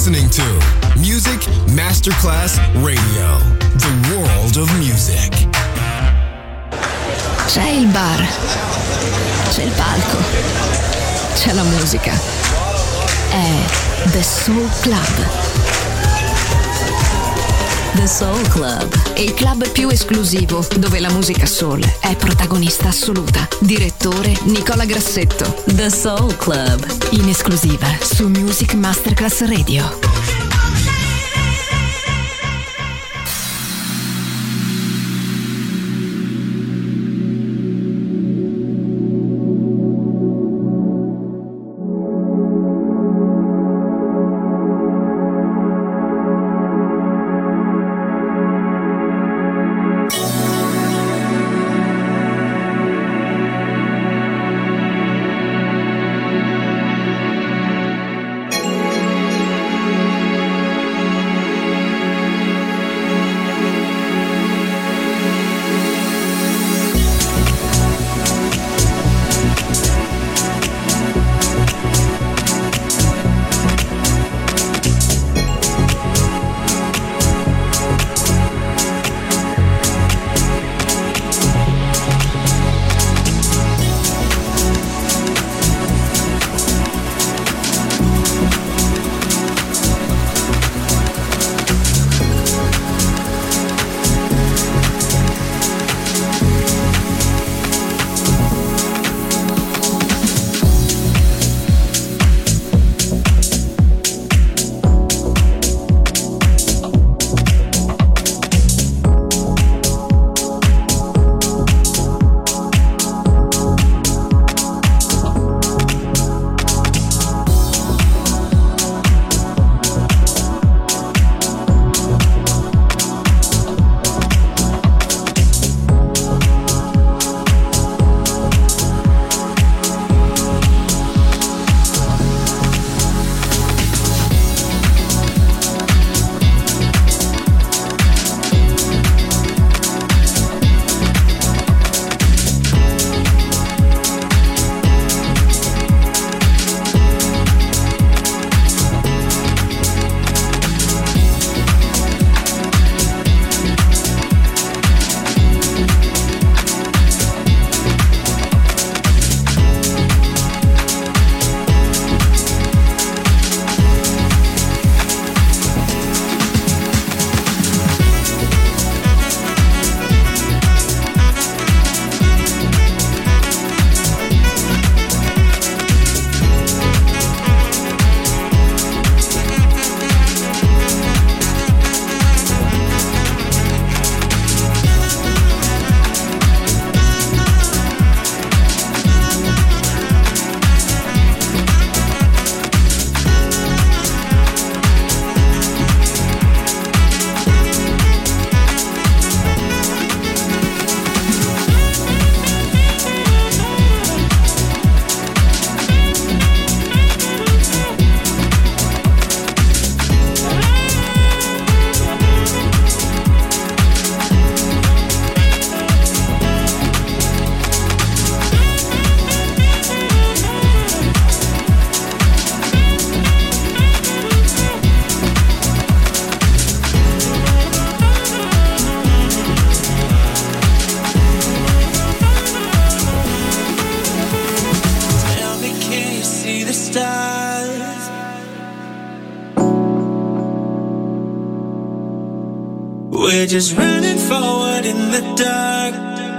listening to Music Masterclass Radio, the world of music. C'è il bar, c'è il palco, c'è la musica. È The Soul Club. The Soul Club, il club più esclusivo dove la musica soul è protagonista assoluta. Direttore Nicola Grassetto. The Soul Club, in esclusiva su Music Masterclass Radio. We're just running forward in the dark.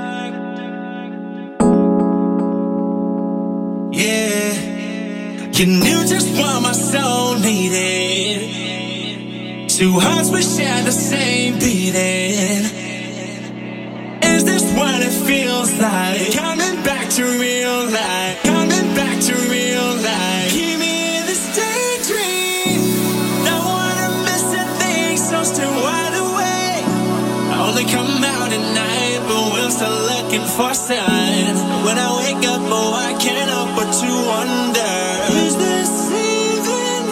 Yeah, you knew just what my soul needed. Two hearts we share the same beating. Is this what it feels like? Coming back to real life. Coming back to real life. Keep me in this daydream. Don't wanna miss a thing, so still wide awake. I only come out at night, but we're still looking for signs. When I wake up, oh, I can't help but to wonder, is this even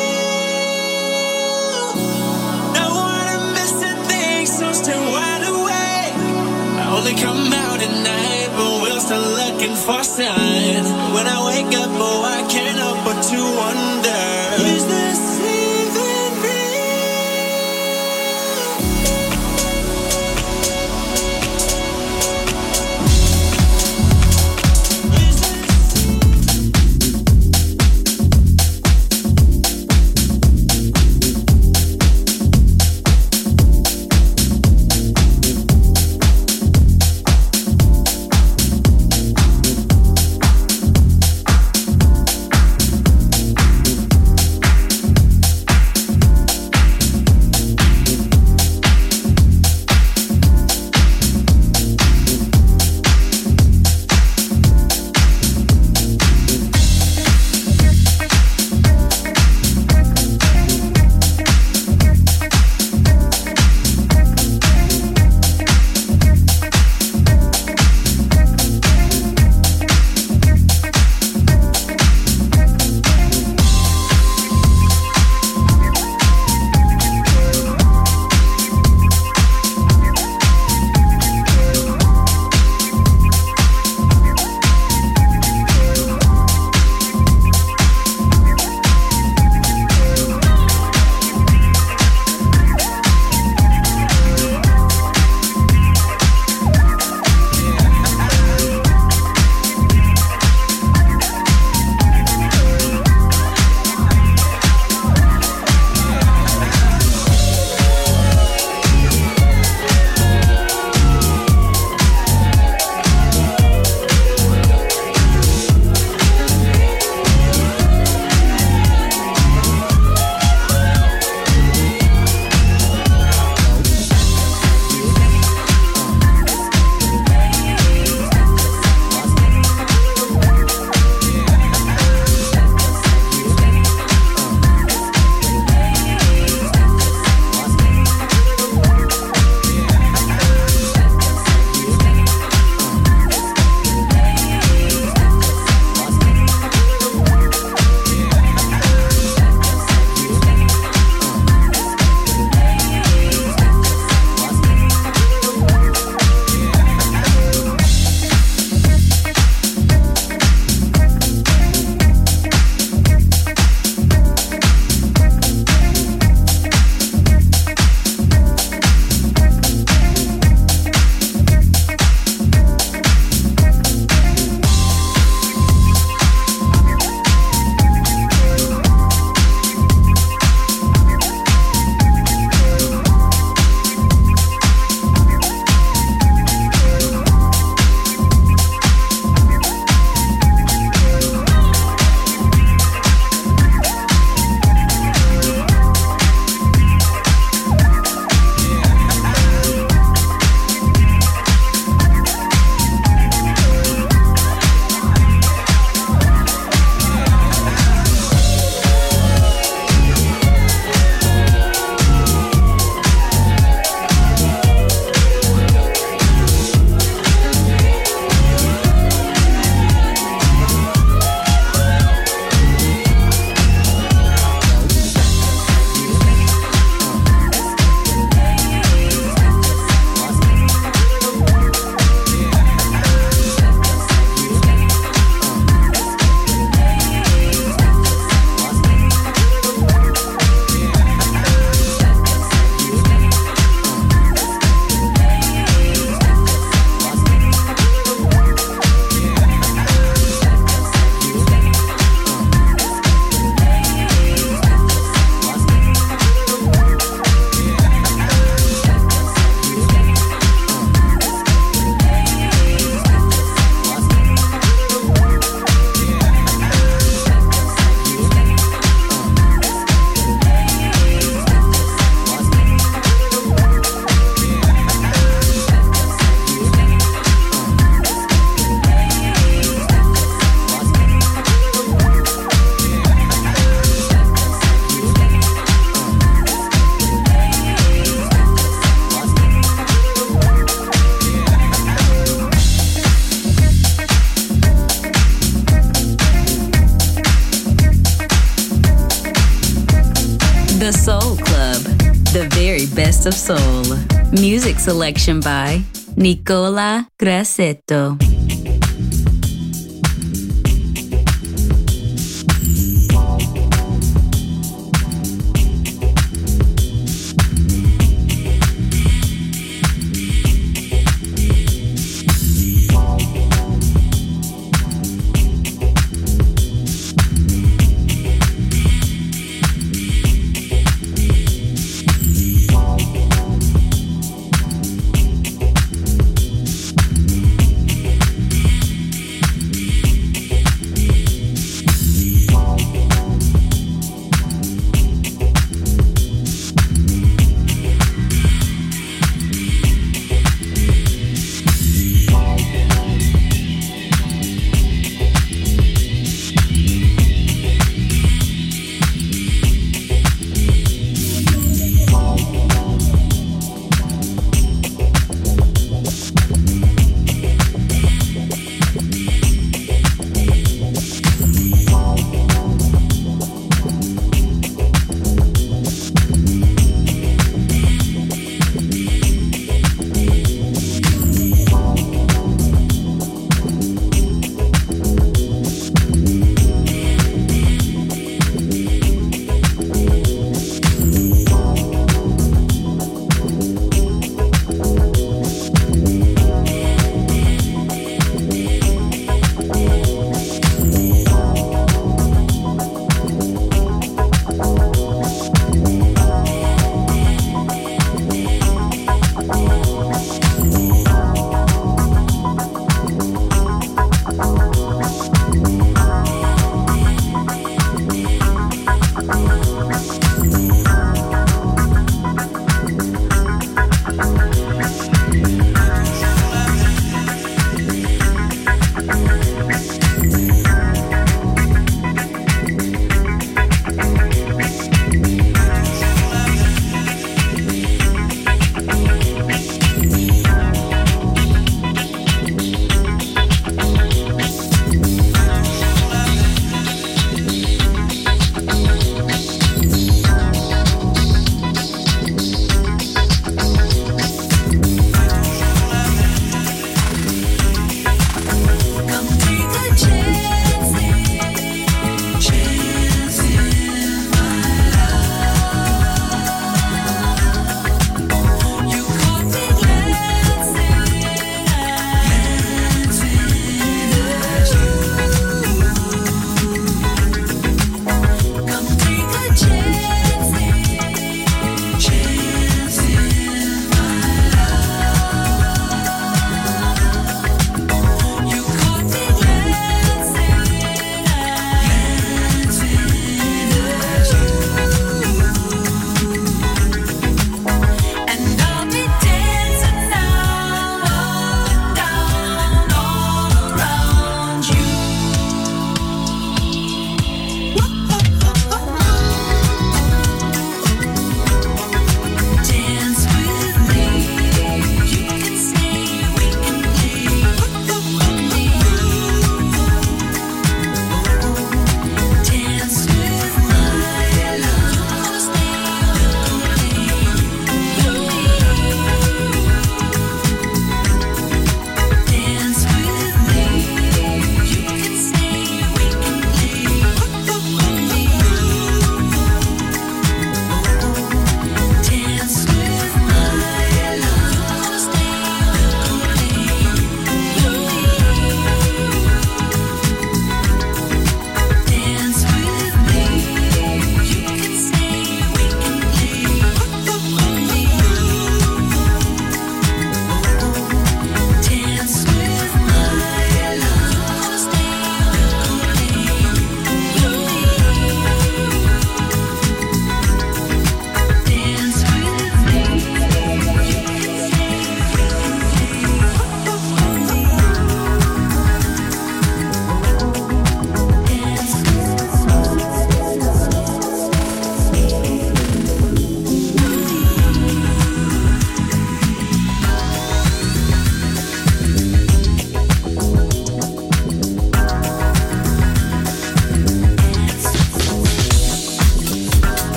real? Don't wanna miss a thing, so still wide awake. I only come out at night, but we're still looking for signs. When I wake up, oh, I can't help but to wonder, is this even The Soul Club, the very best of soul. Music selection by Nicola Grassetto.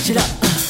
switch it up.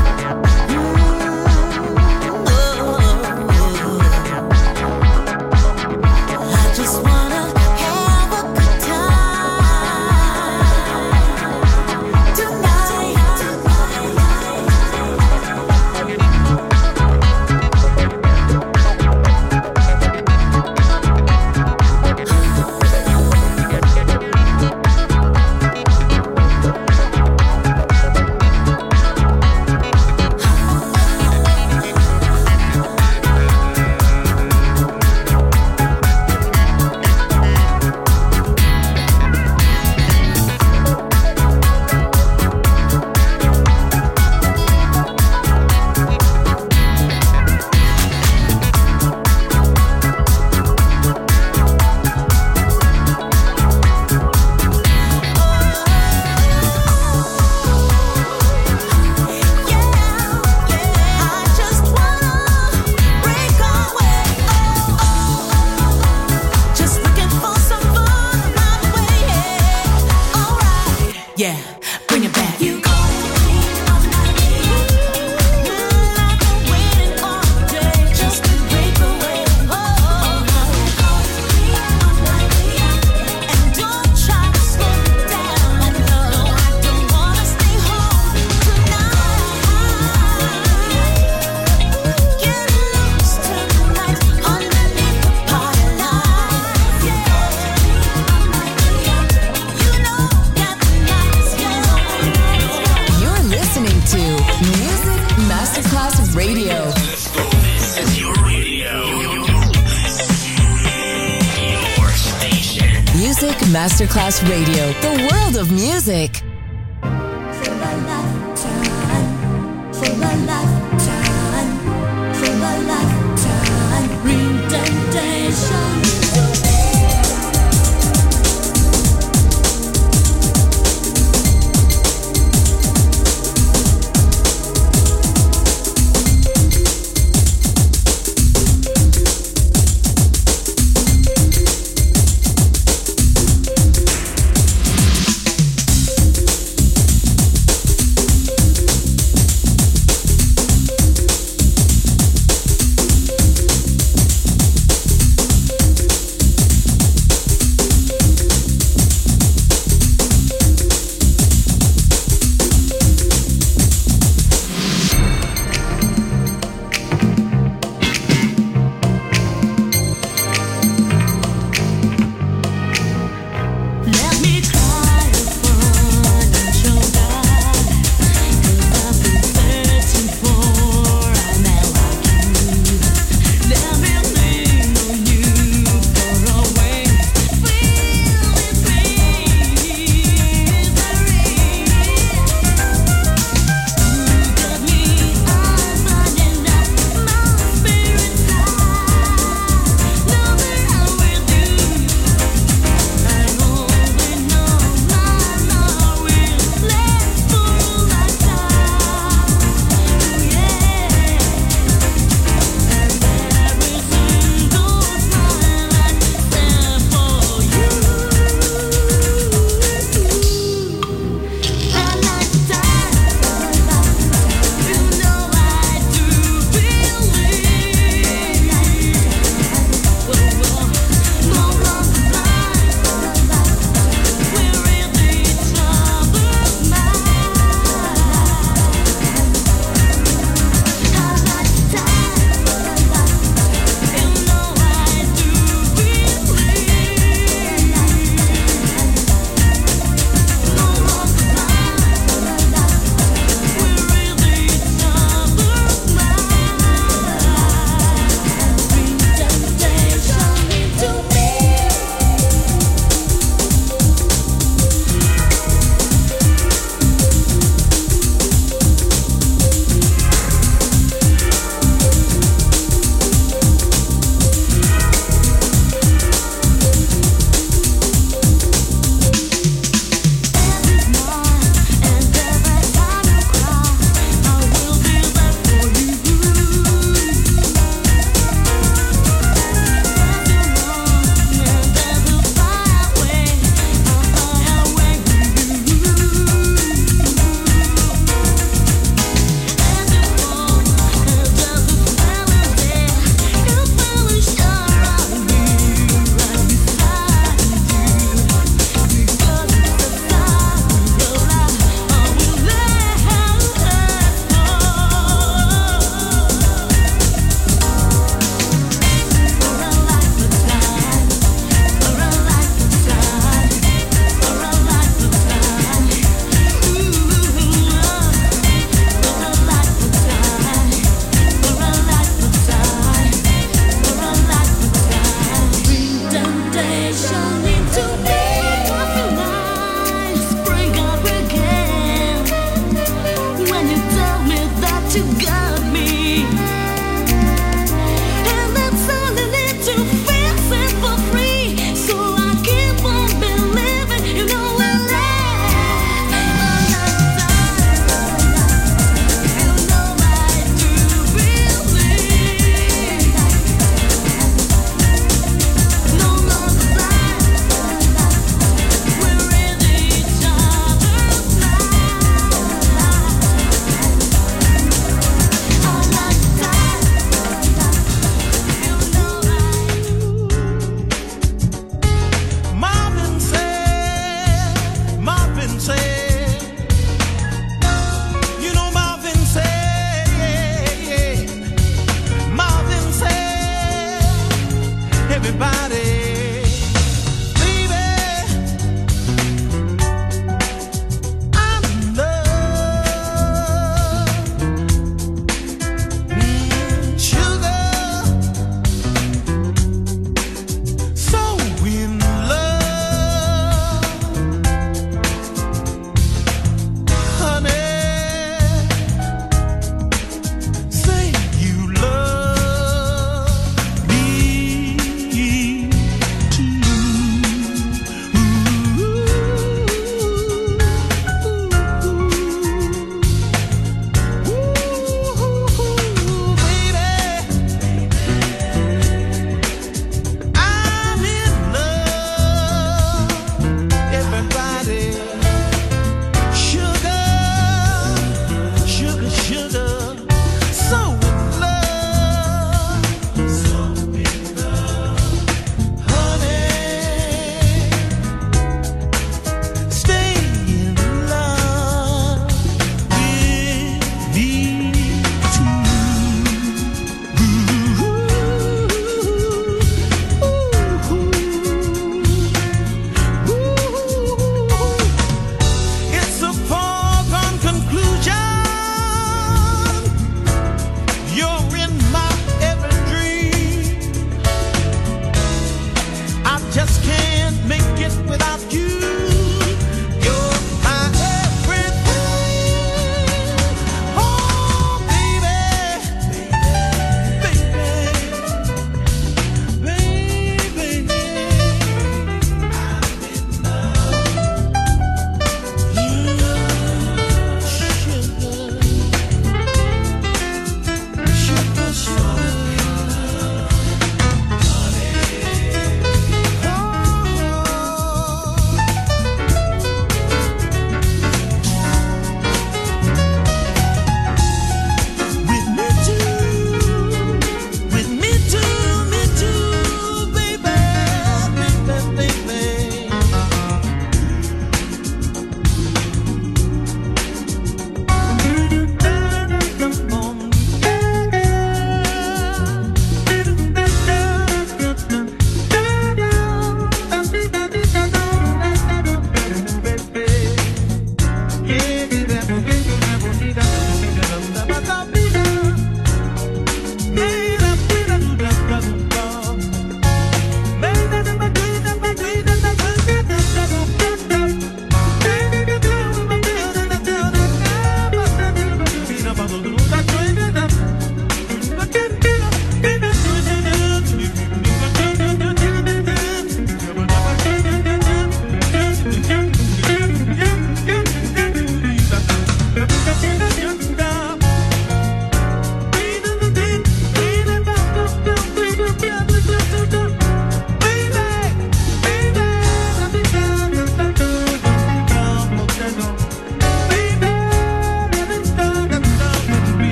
Masterclass Radio, the world of music.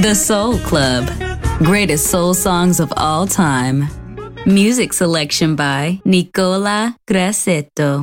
The Soul Club. Greatest soul songs of all time. Music selection by Nicola Grassetto.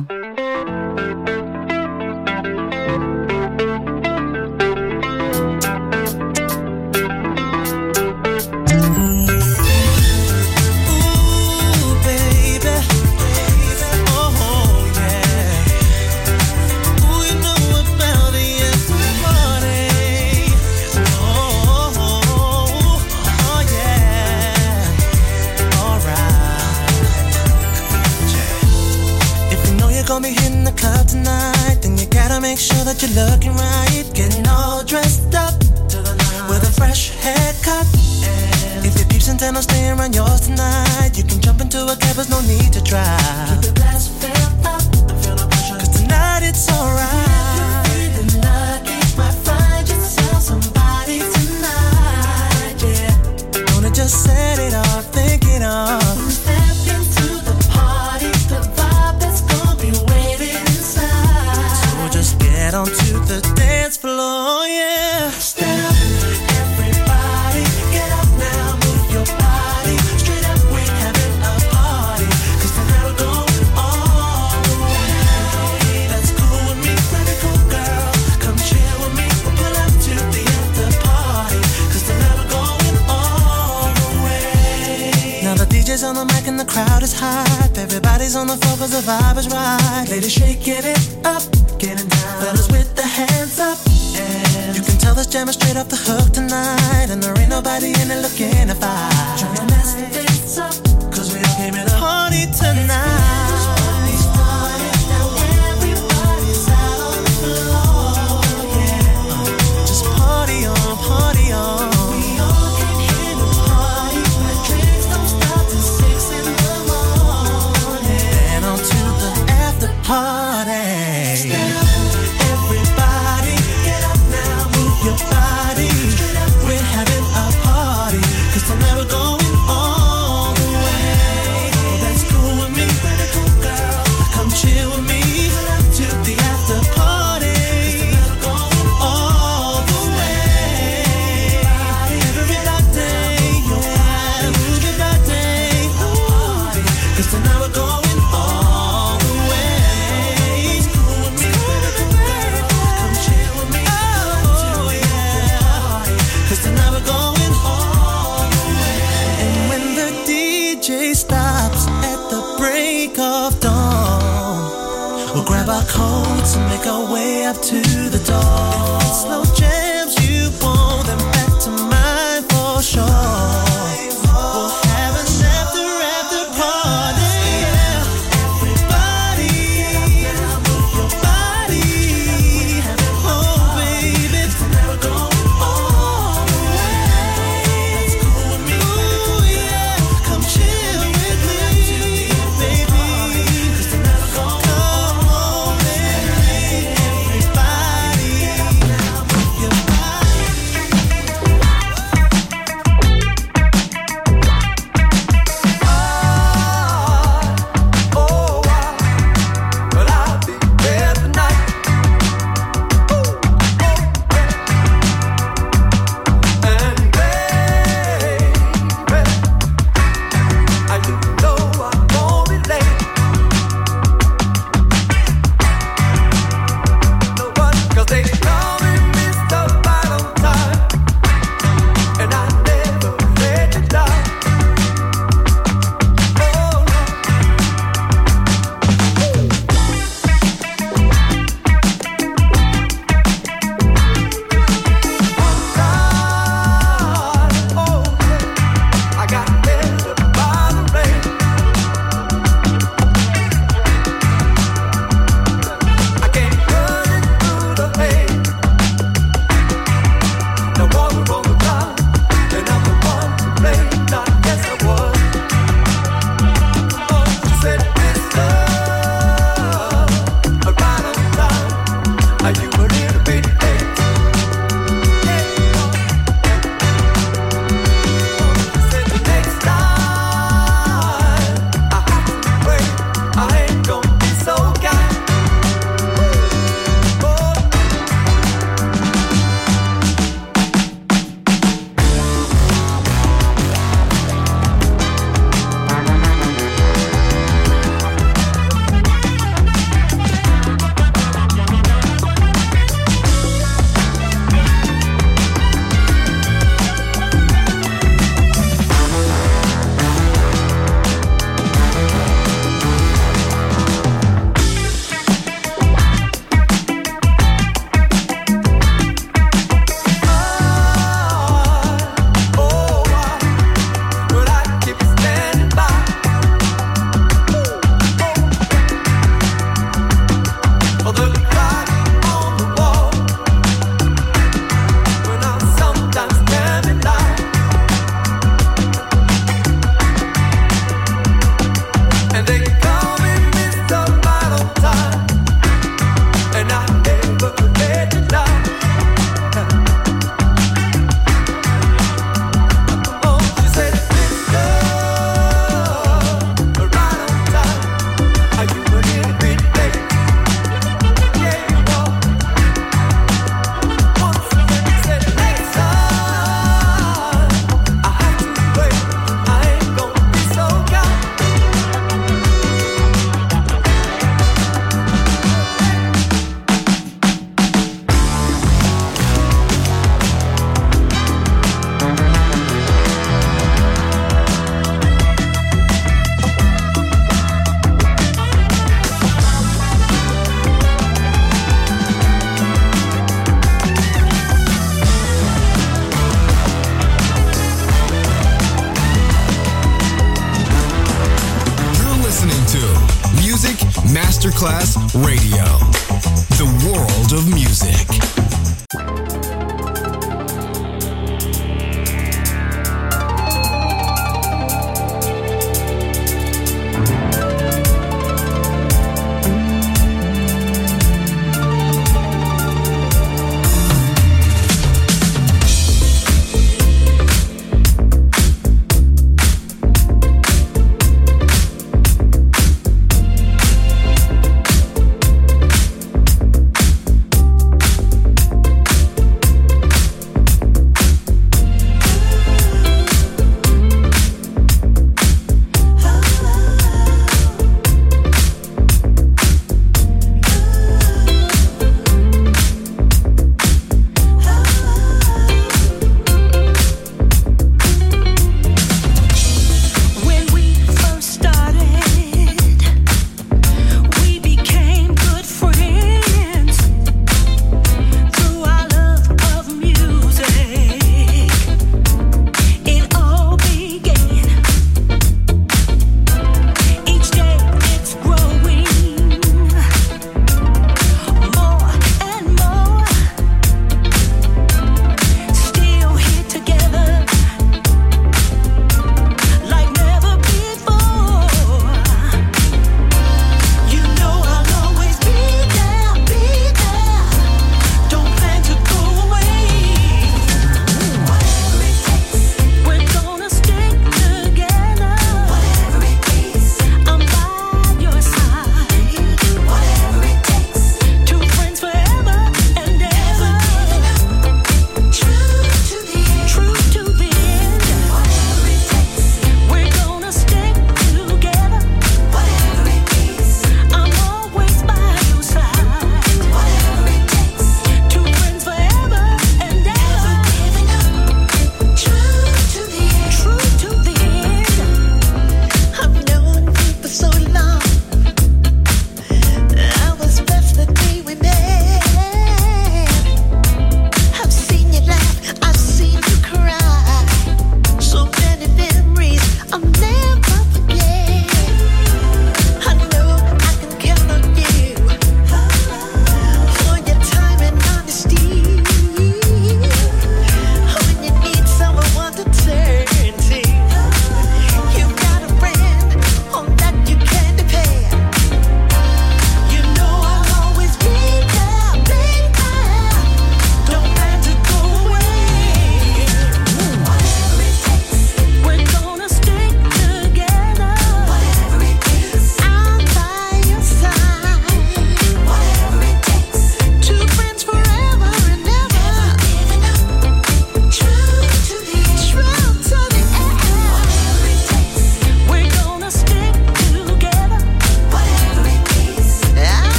Make sure that you're looking right, getting all dressed up with a fresh haircut. If your peeps intend on staying around yours tonight, you can jump into a cab, there's no need to drive. Keep the glass filled up, feel no pressure, 'cause tonight it's alright. If you're feeling lucky, might find yourself somebody tonight, yeah. Wanna just set it off, think it off. Step into the party, the vibe that's gonna be waiting inside. So just get onto the dance floor, yeah. Step up, everybody, get up now, move your body. Straight up, we're having a party, 'cause tonight we're going all the way. That's cool with me, pretty cool girl. Come chill with me, we'll pull up to the after party, 'cause tonight we're going all the way. Now the DJ's on the mic and the crowd is hype. Everybody's on the floor 'cause the vibe is right. Ladies shaking it up, getting down. Fellas with the hands up. And you can tell this jam is straight off the hook tonight, and there ain't nobody in it looking to fight. Trying to mess things up, 'cause we all came in a party tonight. Now everybody's out on the floor, yeah. Just party on, party on. We all came here to party, but drinks don't stop till 6 in the morning. Then on to the after party. Stand up, everybody, get up now, move your body. Straight up, we're having a party, 'cause tonight we're going all the way. Oh, that's cool with me, pretty cool girl. Come chill with me, to the after party, 'cause tonight we're going all the way. Everybody, yeah, move your body, 'cause tonight we're going all the way. It's cool with me, pretty cool girl. Come chill with me, oh yeah, 'cause tonight we're going all the way. And when the DJ stops at the break of dawn, we'll grab our coats and make our way up to the door. If it's slow jams you want, then back to mine for sure. We'll have an after party, yeah. Everybody, move your body. Oh baby, tonight we're going all the way. That's cool with me, ooh yeah. Come chill with me, baby, 'cause tonight we're going. Come on, baby, everybody, now move your body. Masterclass Radio. The world of music.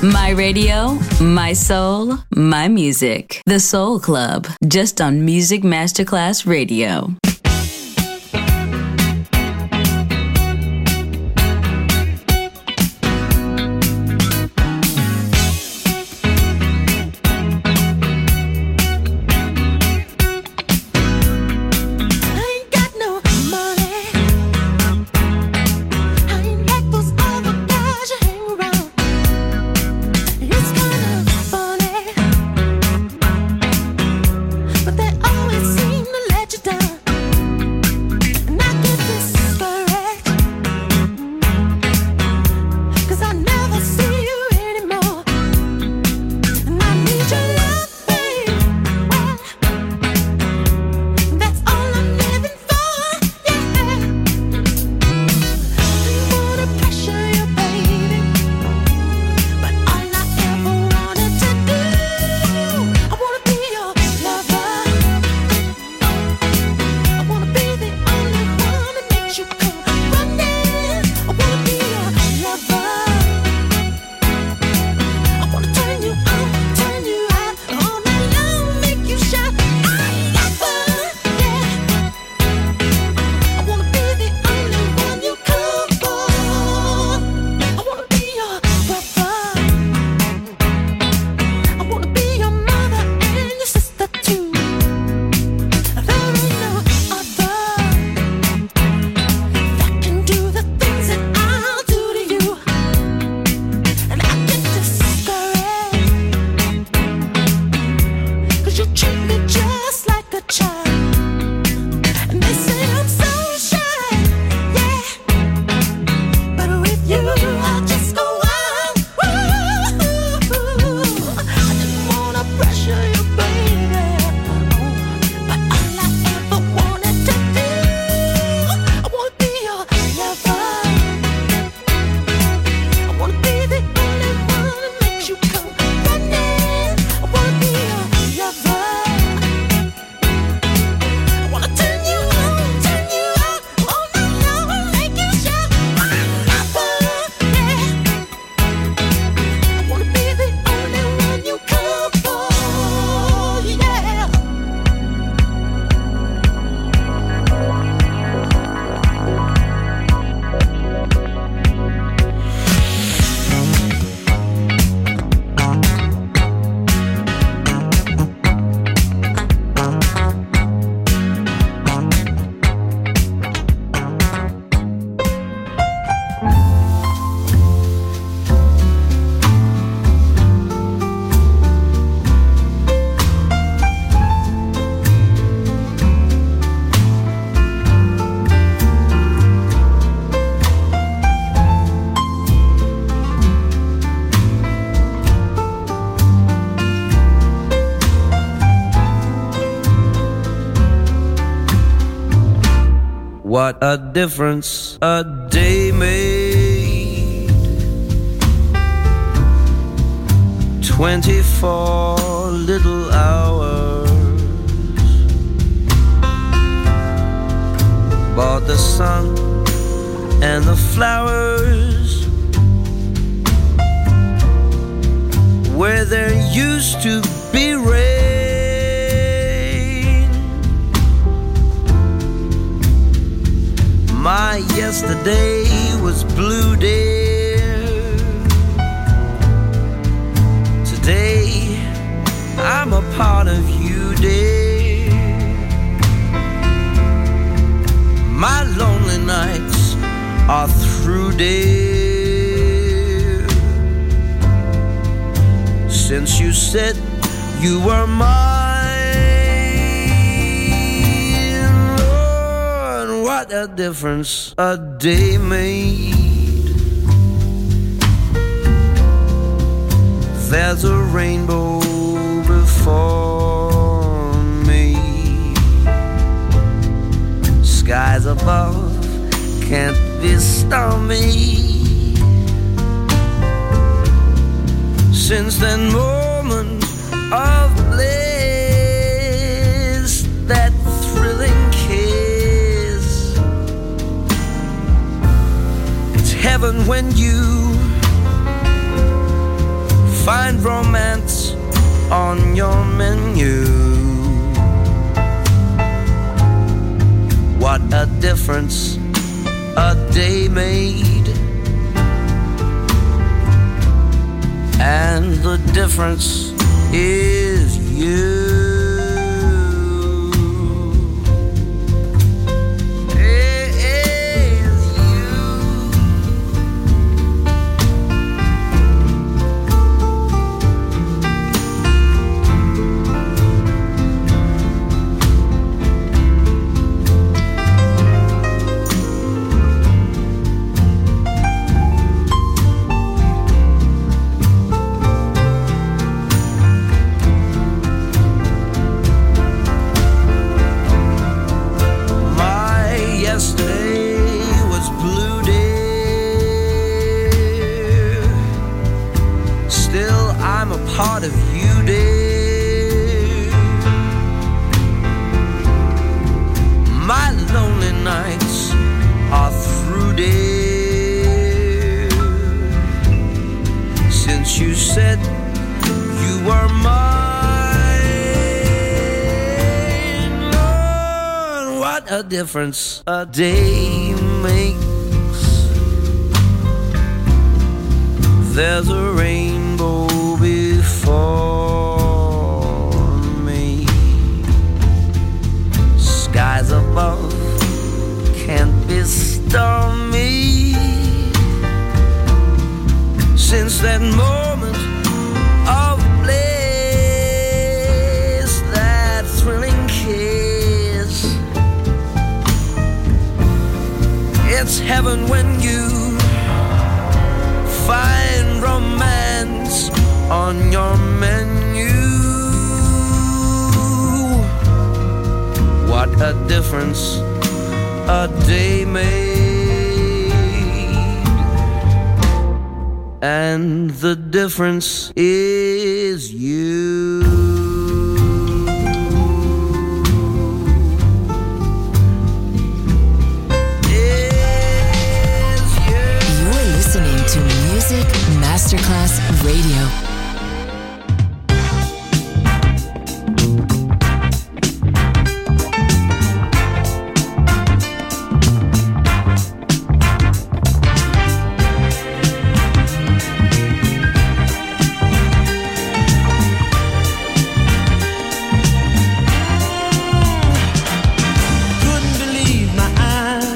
My radio, my soul, my music. The Soul Club, just on Music Masterclass Radio. But they always seem to let you down. What a difference a day made. 24 little hours bought the sun and the flowers where there used to be rain. My yesterday was blue, dear. Today I'm a part of you, dear. My lonely nights are through, dear. Since you said you were mine. What a difference a day made. There's a rainbow before me. Skies above can't be stormy. Since that moment of bliss, that thrilling kiss, it's heaven when you find romance on your menu. What a difference a day made. And the difference is you. Part of you, dear. My lonely nights are through, dear. Since you said you were mine, Lord, what a difference a day makes. There's a rainbow before me. Skies above can't be stormy. Since that moment of bliss, that thrilling kiss, it's heaven when you find romance on your menu. What a difference a day made. And the difference is you. You're listening to Music Masterclass Radio.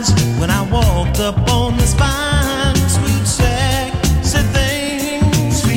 Up on this fine, sweet, sexy thing, sweet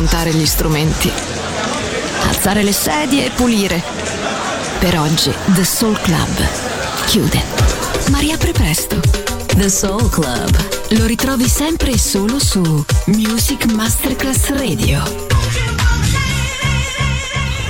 smontare gli strumenti, alzare le sedie e pulire. Per oggi The Soul Club chiude, ma riapre presto. The Soul Club lo ritrovi sempre e solo su Music Masterclass Radio.